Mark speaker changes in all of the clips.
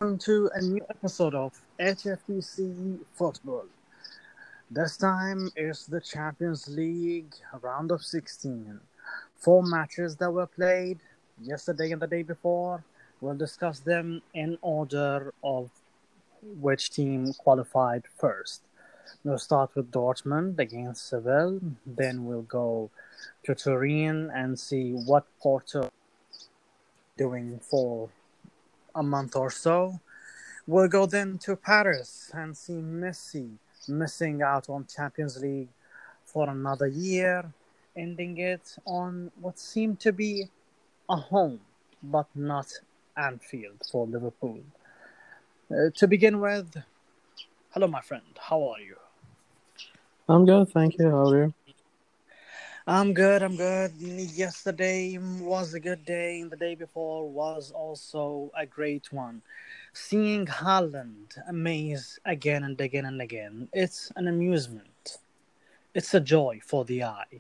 Speaker 1: to a new episode of HFTC Football. This time is the Champions League round of 16. Four matches that were played yesterday and the day before. We'll discuss them in order of which team qualified first. We'll start with Dortmund against Seville. Then we'll go to Turin and see what Porto doing for a month or so. We'll go then to Paris and see Messi missing out on Champions League for another year, ending it on what seemed to be a home, but not Anfield for Liverpool. To begin with, hello, my friend. How are you?
Speaker 2: I'm good, thank you. How are you?
Speaker 1: I'm good. Yesterday was a good day, and the day before was also a great one. Seeing Haaland amaze again and again and again, it's an amusement. It's a joy for the eye.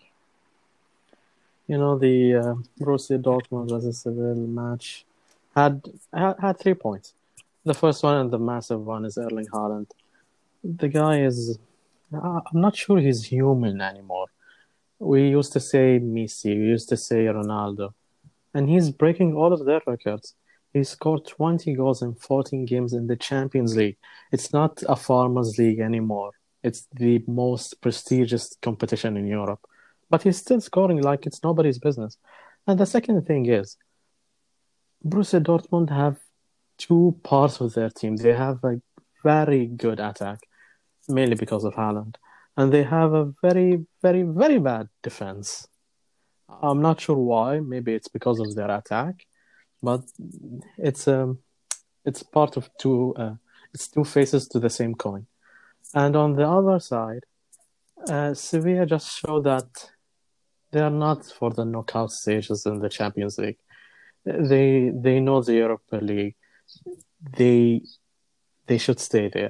Speaker 2: The Borussia Dortmund versus Seville match had 3 points. The first one and the massive one is Erling Haaland. The guy is... I'm not sure he's human anymore. We used to say Messi, we used to say Ronaldo. And he's breaking all of their records. He scored 20 goals in 14 games in the Champions League. It's not a farmers' league anymore. It's the most prestigious competition in Europe. But he's still scoring like it's nobody's business. And the second thing is, Borussia Dortmund have two parts of their team. They have a very good attack, mainly because of Haaland. And they have a very, very, very bad defense. I'm not sure why. Maybe it's because of their attack, but it's part of two. It's two faces to the same coin. And on the other side, Sevilla just showed that they are not for the knockout stages in the Champions League. They know the Europa League. They should stay there.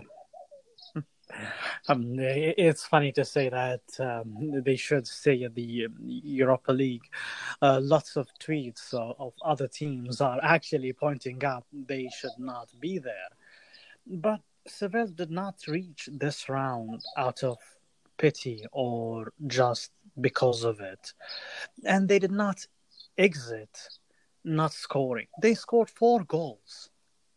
Speaker 1: It's funny to say that they should stay in the Europa League. Lots of tweets of other teams are actually pointing out they should not be there. But Seville did not reach this round out of pity or just because of it. And they did not exit not scoring. They scored 4 goals.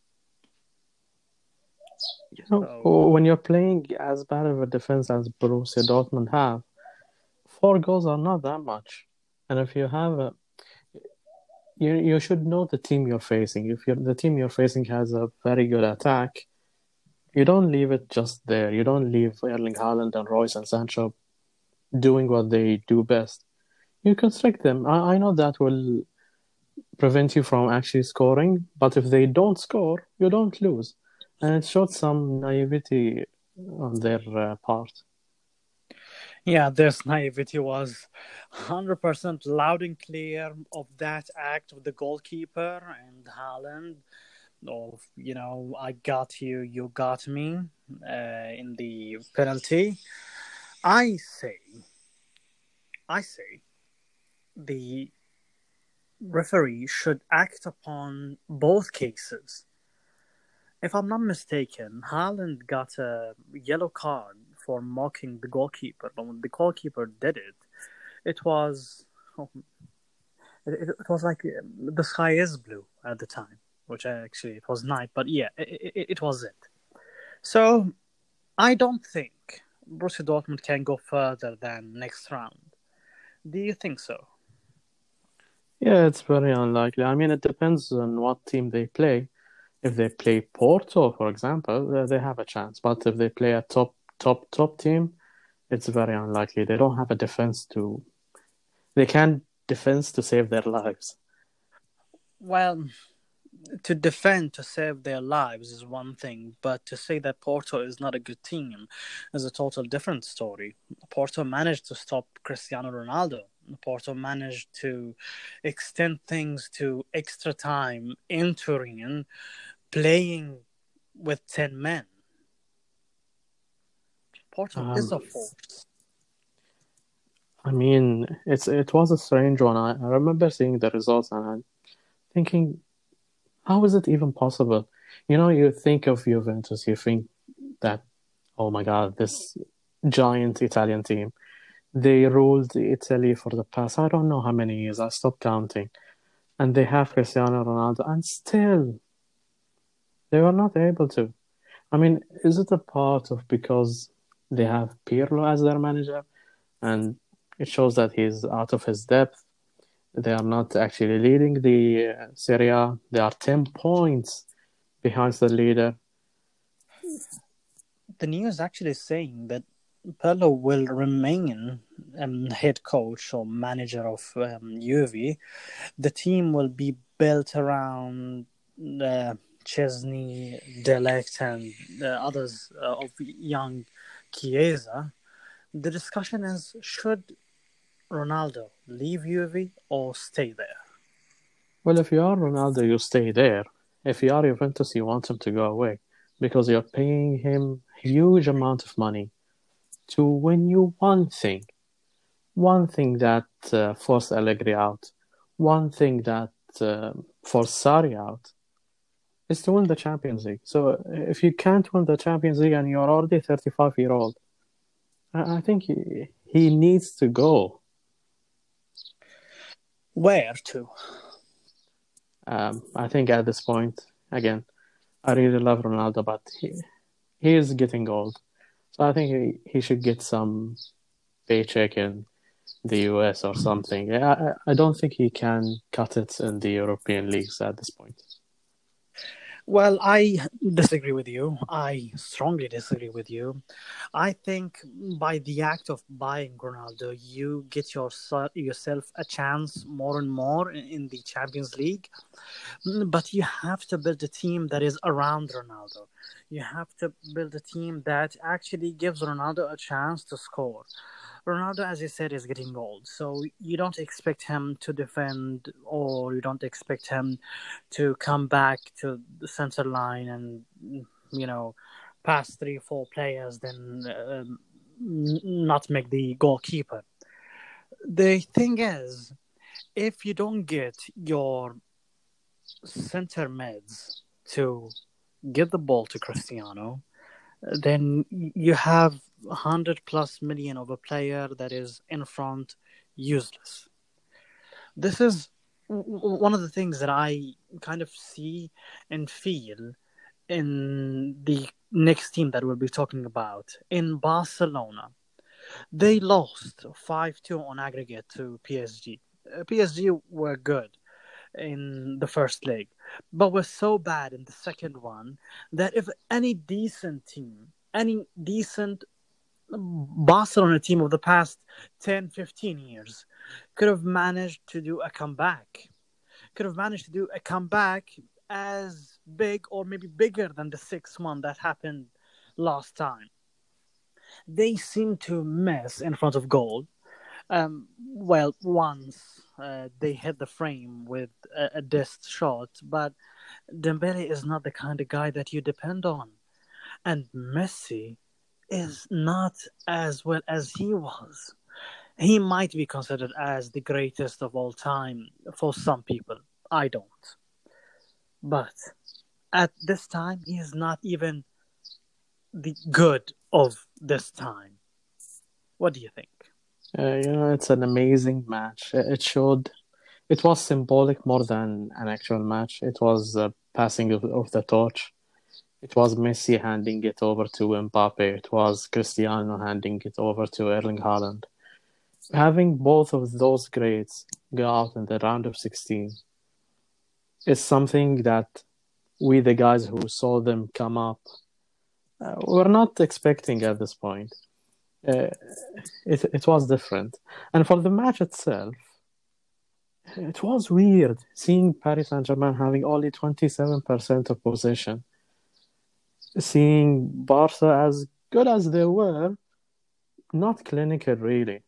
Speaker 2: When you're playing as bad of a defense as Borussia Dortmund have, 4 goals are not that much. And if you have you should know the team you're facing. If the team you're facing has a very good attack, you don't leave it just there. You don't leave Erling Haaland and Royce and Sancho doing what they do best. You constrict them. I know that will prevent you from actually scoring, but if they don't score, you don't lose. And it showed some naivety on their part.
Speaker 1: Yeah, this naivety was 100% loud and clear of that act of the goalkeeper and Haaland. Of, I got you, you got me in the penalty. I say the referee should act upon both cases. If I'm not mistaken, Haaland got a yellow card for mocking the goalkeeper. But when the goalkeeper did it, it was like the sky is blue at the time, which actually it was night. But yeah, it was it. So I don't think Borussia Dortmund can go further than next round. Do you think so?
Speaker 2: Yeah, it's very unlikely. I mean, it depends on what team they play. If they play Porto, for example, they have a chance. But if they play a top team, it's very unlikely. They don't have a defense to... They can't defense to save their lives.
Speaker 1: Well, to defend to save their lives is one thing, but to say that Porto is not a good team is a total different story. Porto managed to stop Cristiano Ronaldo. Porto managed to extend things to extra time in Turin, playing with 10 men. Porto is a force.
Speaker 2: I mean, it was a strange one. I remember seeing the results and I'm thinking, how is it even possible? You think of Juventus, you think that, oh my God, this giant Italian team. They ruled Italy for the past, I don't know how many years, I stopped counting. And they have Cristiano Ronaldo, and still they were not able to. I mean, is it a part of because they have Pirlo as their manager and it shows that he's out of his depth? They are not actually leading the Serie A. They are 10 points behind the leader.
Speaker 1: The news actually saying that Pirlo will remain head coach or manager of Juve. The team will be built around Chesney, Delict, and others of young Chiesa. The discussion is, should Ronaldo leave Juve or stay there?
Speaker 2: Well, if you are Ronaldo, you stay there. If you are Juventus, you want him to go away because you're paying him huge amount of money to win you one thing that forced Allegri out, one thing that forced Sarri out, is to win the Champions League. So if you can't win the Champions League and you're already 35-year-old, I think he needs to go.
Speaker 1: Where to?
Speaker 2: I think at this point, again, I really love Ronaldo, but he is getting old. So I think he should get some paycheck in the US or something. I don't think he can cut it in the European leagues at this point.
Speaker 1: Well, I disagree with you. I strongly disagree with you. I think by the act of buying Ronaldo, you get yourself a chance more and more in the Champions League. But you have to build a team that is around Ronaldo. You have to build a team that actually gives Ronaldo a chance to score. Ronaldo, as you said, is getting old, so you don't expect him to defend, or you don't expect him to come back to the center line and, pass 3-4 players, then not make the goalkeeper. The thing is, if you don't get your center mids to give the ball to Cristiano, then you have 100+ million of a player that is in front, useless. This is one of the things that I kind of see and feel in the next team that we'll be talking about. In Barcelona, they lost 5-2 on aggregate to PSG. PSG were good in the first leg, but were so bad in the second one that if any decent team, any decent Barcelona team of the past 10-15 years could have managed to do a comeback, as big or maybe bigger than the 6-1 that happened last time. They seem to miss in front of goal. Once they hit the frame with a disc shot, but Dembele is not the kind of guy that you depend on. And Messi is not as well as he was. He might be considered as the greatest of all time for some people. I don't. But at this time, he is not even the good of this time. What do you think?
Speaker 2: It's an amazing match. It was symbolic more than an actual match. It was a passing of the torch. It was Messi handing it over to Mbappe. It was Cristiano handing it over to Erling Haaland. Having both of those greats go out in the round of 16 is something that we, the guys who saw them come up, were not expecting at this point. It was different. And for the match itself, it was weird seeing Paris Saint-Germain having only 27% of possession. Seeing Barca, as good as they were, not clinical really.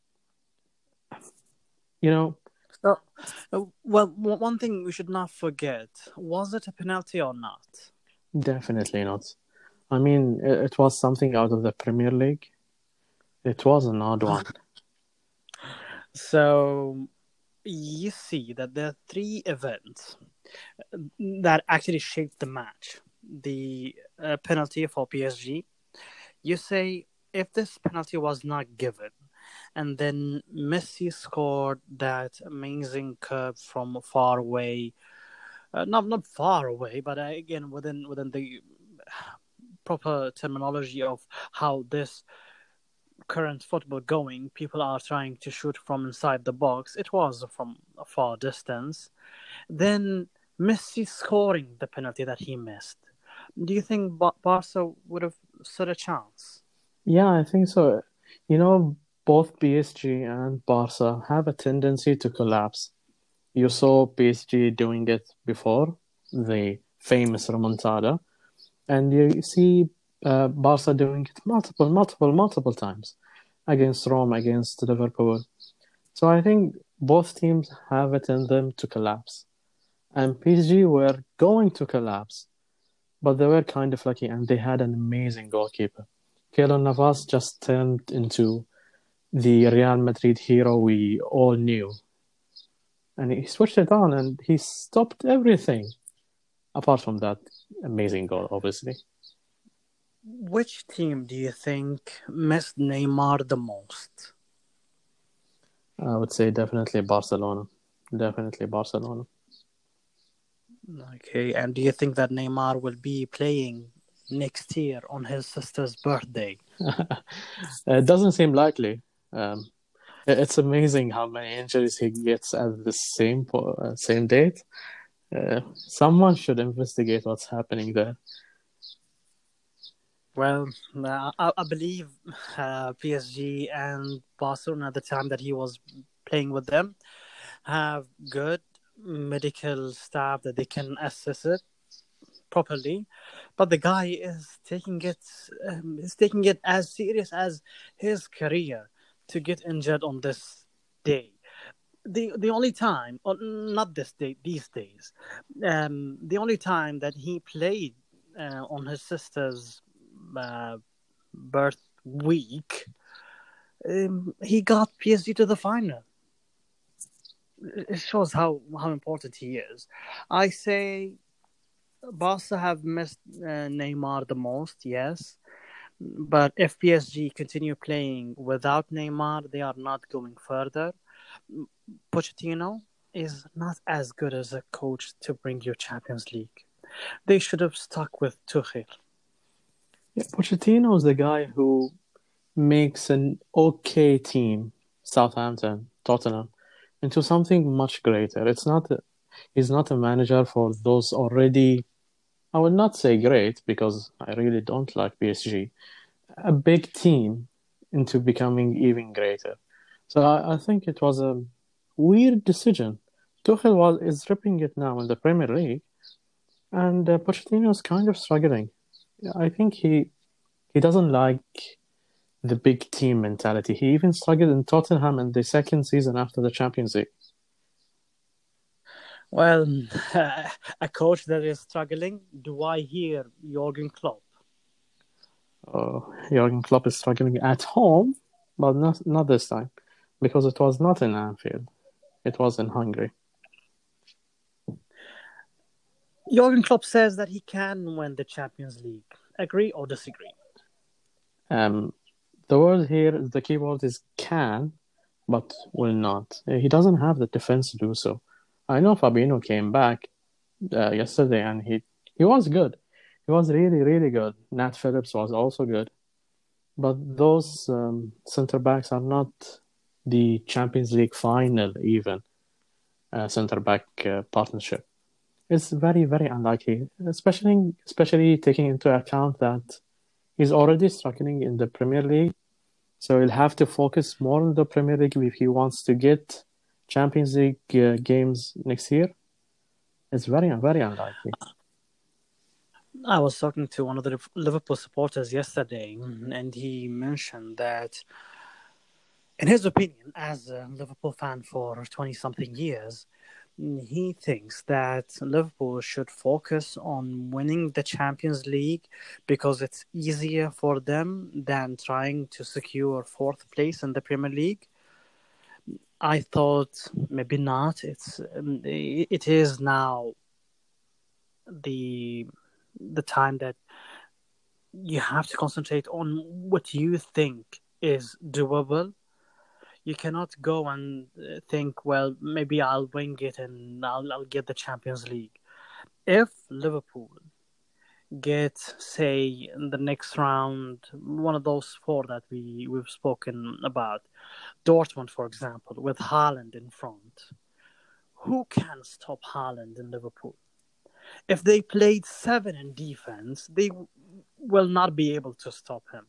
Speaker 1: So, one thing we should not forget, was it a penalty or not?
Speaker 2: Definitely not. I mean, it was something out of the Premier League. It was an odd one.
Speaker 1: So, you see that there are three events that actually shaped the match. The penalty for PSG. You say if this penalty was not given, and then Messi scored that amazing curve from far away, not far away, but again within the proper terminology of how this current football going, people are trying to shoot from inside the box. It was from a far distance. Then Messi scoring the penalty that he missed. Do you think Barca would have stood a chance?
Speaker 2: Yeah, I think so. You know, both PSG and Barca have a tendency to collapse. You saw PSG doing it before, the famous remontada, and you see Barca doing it multiple times against Rome, against Liverpool. So I think both teams have it in them to collapse. And PSG were going to collapse, but they were kind of lucky and they had an amazing goalkeeper. Keylor Navas just turned into the Real Madrid hero we all knew. And he switched it on and he stopped everything. Apart from that amazing goal, obviously.
Speaker 1: Which team do you think missed Neymar the most?
Speaker 2: I would say definitely Barcelona. Definitely Barcelona.
Speaker 1: Okay, and do you think that Neymar will be playing next year on his sister's birthday?
Speaker 2: It doesn't seem likely. It's amazing how many injuries he gets at the same date. Someone should investigate what's happening there.
Speaker 1: Well, I believe PSG and Barcelona at the time that he was playing with them have good medical staff that they can assess it properly, but the guy is taking it as serious as his career to get injured on this day. The only time, or not this day, these days, the only time that he played on his sister's birth week, he got PSG to the final. It shows how important he is. I say Barca have missed Neymar the most, yes. But if PSG continue playing without Neymar, they are not going further. Pochettino is not as good as a coach to bring you Champions League. They should have stuck with Tuchel.
Speaker 2: Yeah, Pochettino is the guy who makes an okay team, Southampton, Tottenham, into something much greater. He's not a manager for those already, I would not say great because I really don't like PSG, a big team into becoming even greater. So I think it was a weird decision. Tuchel is ripping it now in the Premier League, and Pochettino is kind of struggling. I think he doesn't like the big team mentality. He even struggled in Tottenham in the second season after the Champions League.
Speaker 1: Well, a coach that is struggling. Do I hear Jurgen Klopp?
Speaker 2: Jurgen Klopp is struggling at home, but not this time, because it was not in Anfield. It was in Hungary.
Speaker 1: Jurgen Klopp says that he can win the Champions League. Agree or disagree?
Speaker 2: The key word is can, but will not. He doesn't have the defense to do so. I know Fabinho came back yesterday and he was good. He was really, really good. Nat Phillips was also good. But those centre backs are not the Champions League final even centre back partnership. It's very, very unlikely, especially taking into account that he's already struggling in the Premier League. So he'll have to focus more on the Premier League if he wants to get Champions League games next year. It's very, very unlikely.
Speaker 1: I was talking to one of the Liverpool supporters yesterday, and he mentioned that, in his opinion, as a Liverpool fan for 20-something years, he thinks that Liverpool should focus on winning the Champions League because it's easier for them than trying to secure fourth place in the Premier League. I thought maybe not. It is now the time that you have to concentrate on what you think is doable. You cannot go and think, well, maybe I'll wing it and I'll get the Champions League. If Liverpool get, say, in the next round, one of those four that we've spoken about, Dortmund, for example, with Haaland in front, who can stop Haaland in Liverpool? If they played 7 in defense, they will not be able to stop him.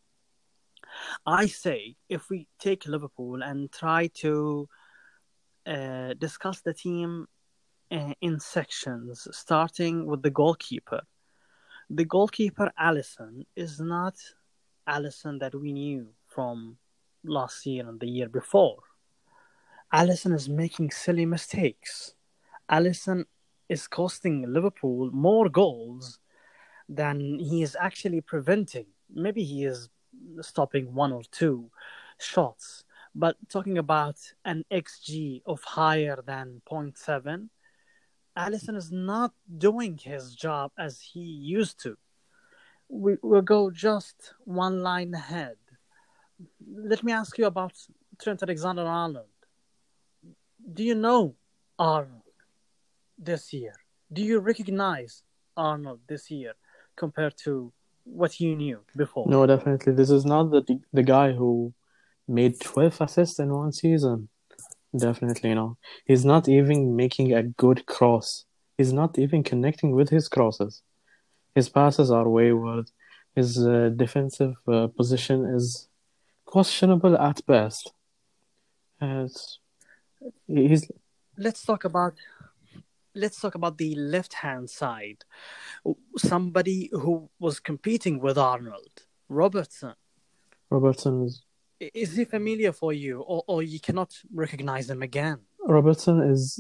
Speaker 1: I say if we take Liverpool and try to discuss the team in sections, starting with the goalkeeper. The goalkeeper, Alisson, is not Alisson that we knew from last year and the year before. Alisson is making silly mistakes. Alisson is costing Liverpool more goals than he is actually preventing. Maybe he is stopping 1 or 2 shots, but talking about an XG of higher than 0.7, Alisson is not doing his job as he used to. We'll go just one line ahead. Let me ask you about Trent Alexander-Arnold. Do you know Arnold this year? Do you recognize Arnold this year compared to what you knew before?
Speaker 2: No, definitely. This is not the guy who made 12 assists in one season. Definitely no. He's not even making a good cross. He's not even connecting with his crosses. His passes are wayward. His defensive position is questionable at best. He's
Speaker 1: Let's talk about the left-hand side. Somebody who was competing with Arnold, Robertson.
Speaker 2: Robertson
Speaker 1: Is he familiar for you, or you cannot recognize him again?
Speaker 2: Robertson is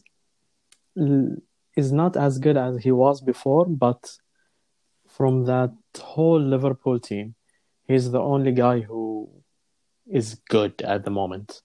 Speaker 2: not as good as he was before, but from that whole Liverpool team, he's the only guy who is good at the moment.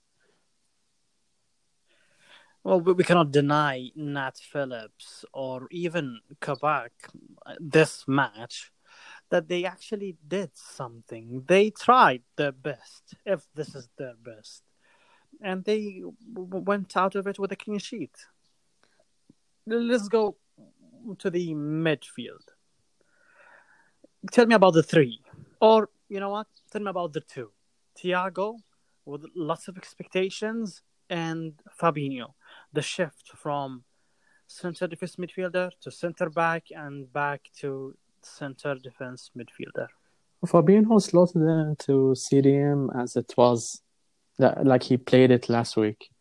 Speaker 1: Well, we cannot deny Nat Phillips or even Kabak this match that they actually did something. They tried their best, if this is their best, and they went out of it with a clean sheet. Let's go to the midfield. Tell me about the 3. Or, you know what? Tell me about the 2. Thiago, with lots of expectations, and Fabinho. The shift from center defense midfielder to center back and back to center defense midfielder.
Speaker 2: Fabinho slotted into CDM as it was, like he played it last week.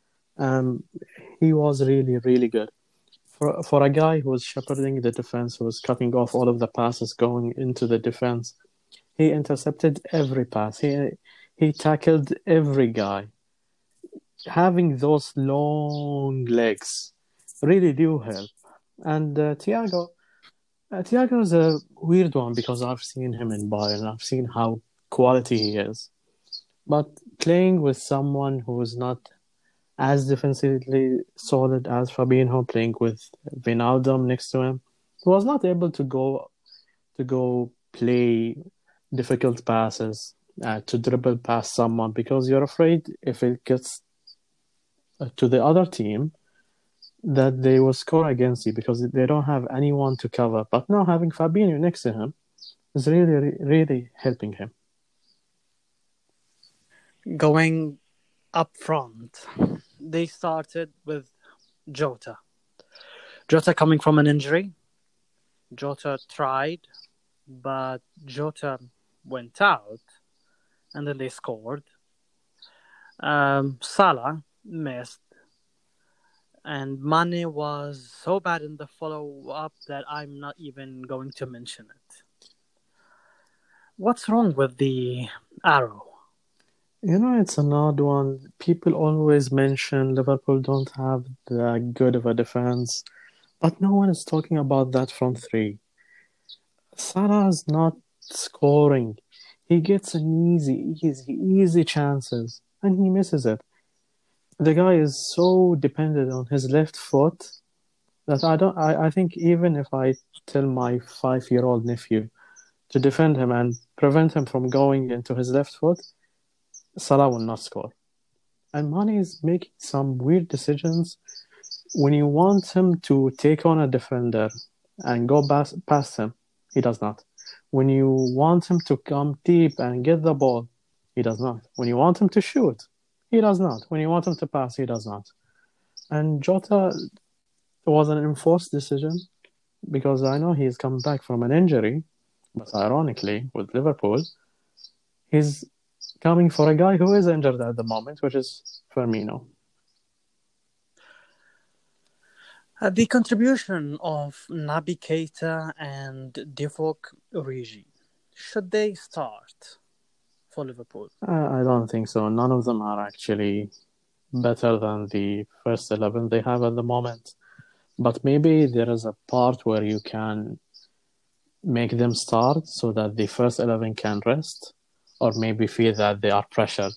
Speaker 2: He was really, really good. For a guy who was shepherding the defense, who was cutting off all of the passes going into the defense, he intercepted every pass. He tackled every guy. Having those long legs really do help. And Thiago is a weird one because I've seen him in Bayern. I've seen how quality he is. But playing with someone who is not as defensively solid as Fabinho, playing with Wijnaldum next to him, he was not able to go play difficult passes, to dribble past someone, because you're afraid if it gets to the other team that they will score against you because they don't have anyone to cover. But now having Fabinho next to him is really, really helping him.
Speaker 1: Going up front, they started with Jota. Jota coming from an injury. Jota tried, but Jota went out, and then they scored. Salah missed, and Mane was so bad in the follow-up that I'm not even going to mention it. What's wrong with the arrow?
Speaker 2: You know, it's an odd one. People always mention Liverpool don't have that good of a defense, but no one is talking about that front 3. Salah is not scoring. He gets an easy chances, and he misses it. the guy is so dependent on his left foot that I think even if I tell my 5-year-old nephew to defend him and prevent him from going into his left foot, Salah will not score. And Mane is making some weird decisions. When you want him to take on a defender and go past him, he does not. When you want him to come deep and get the ball, he does not. When you want him to shoot, he does not. When you want him to pass, he does not. And Jota was an enforced decision because I know he's come back from an injury, but ironically, with Liverpool, he's coming for a guy who is injured at the moment, which is Firmino.
Speaker 1: The contribution of Naby Keita and Divock Origi, should they start for Liverpool?
Speaker 2: I don't think so. None of them are actually better than the first 11 they have at the moment. But maybe there is a part where you can make them start so that the first 11 can rest, or maybe feel that they are pressured.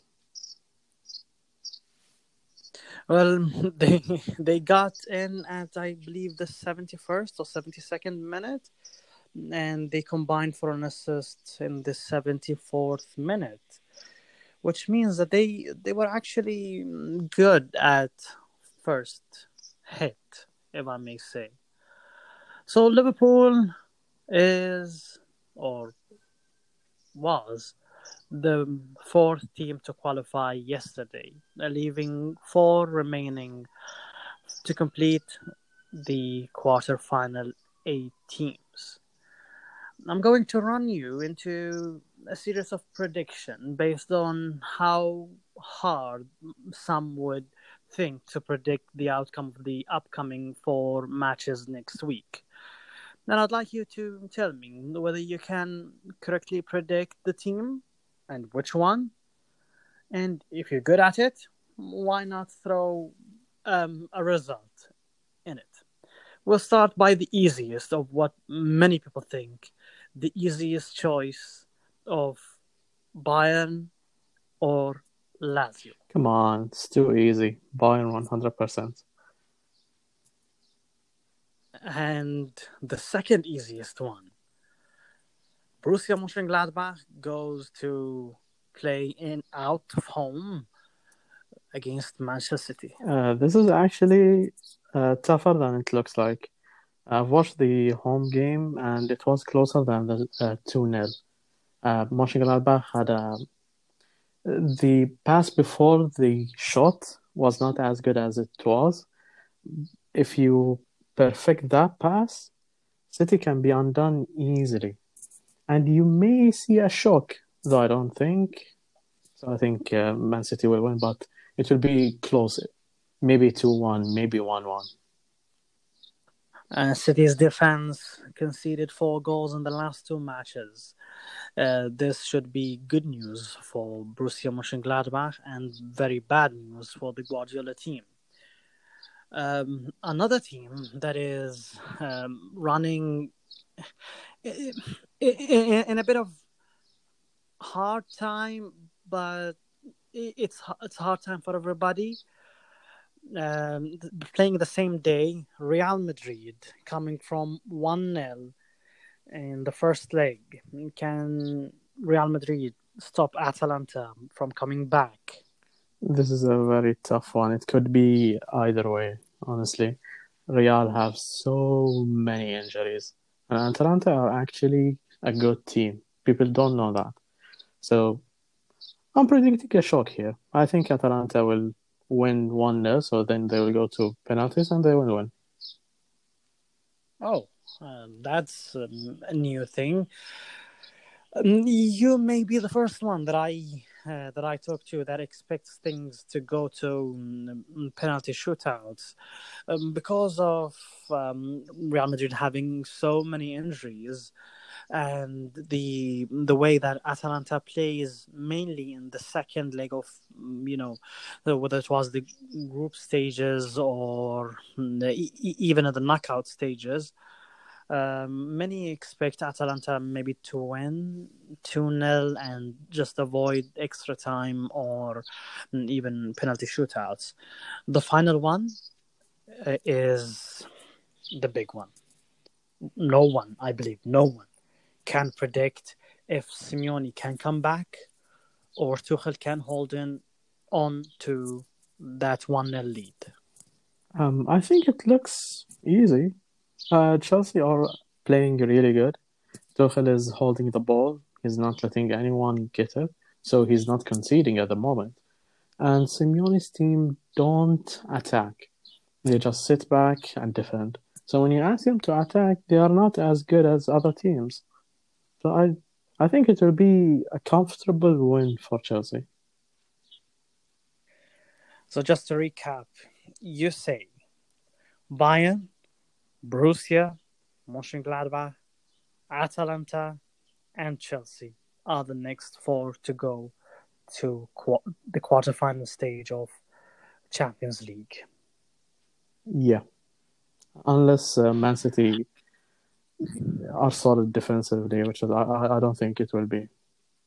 Speaker 1: Well, they got in at, I believe, the 71st or 72nd minute, and they combined for an assist in the 74th minute, which means that they were actually good at first hit, if I may say. So Liverpool is, or was, the fourth team to qualify yesterday, leaving 4 remaining to complete the quarter-final 8 teams. I'm going to run you into a series of predictions based on how hard some would think to predict the outcome of the upcoming 4 matches next week. And I'd like you to tell me whether you can correctly predict the team and which one. And if you're good at it, why not throw a result in it? We'll start by the easiest of what many people think. The easiest choice of Bayern or Lazio.
Speaker 2: Come on, it's too easy. Bayern 100%.
Speaker 1: And the second easiest one. Borussia Mönchengladbach goes to play out of home against Manchester City.
Speaker 2: This is actually tougher than it looks like. I've watched the home game and it was closer than the 2-0. Mönchengladbach had the pass before the shot was not as good as it was. If you perfect that pass, City can be undone easily. And you may see a shock, though I don't think. So I think Man City will win, but it will be close. Maybe 2-1, maybe 1-1.
Speaker 1: City's defense conceded 4 goals in the last 2 matches. This should be good news for Borussia Mönchengladbach and very bad news for the Guardiola team. Another team that is running in a bit of hard time, but it's hard time for everybody. Playing the same day, Real Madrid coming from 1-0 in the first leg. Can Real Madrid stop Atalanta from coming back?
Speaker 2: This is a very tough one. It could be either way, honestly. Real have so many injuries. And Atalanta are actually a good team. People don't know that. So I'm predicting a shock here. I think Atalanta will win 1-0, so then they will go to penalties and they will win.
Speaker 1: Oh, that's a new thing. You may be the first one that I talk to that expects things to go to penalty shootouts because of Real Madrid having so many injuries and the way that Atalanta plays mainly in the second leg of whether it was the group stages or even at the knockout stages. Many expect Atalanta maybe to win 2-0 and just avoid extra time or even penalty shootouts. The final one is the big one. I believe, no one can predict if Simeone can come back or Tuchel can hold on to that 1-0 lead.
Speaker 2: I think it looks easy. Chelsea are playing really good. Tuchel is holding the ball. He's not letting anyone get it, so he's not conceding at the moment. And Simeone's team don't attack. They just sit back and defend. So when you ask them to attack, they are not as good as other teams. So I think it will be a comfortable win for Chelsea.
Speaker 1: So just to recap, you say Bayern, Borussia, Mönchengladbach, Atalanta, and Chelsea are the next four to go to the quarterfinal stage of Champions League.
Speaker 2: Yeah. Unless Man City are solid defensively, which is, I don't think it will be.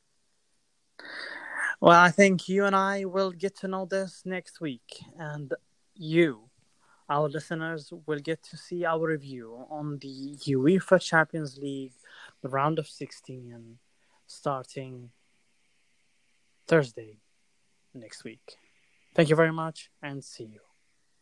Speaker 1: Well, I think you and I will get to know this next week, and you, our listeners, will get to see our review on the UEFA Champions League, the round of 16, starting Thursday next week. Thank you very much, and see you.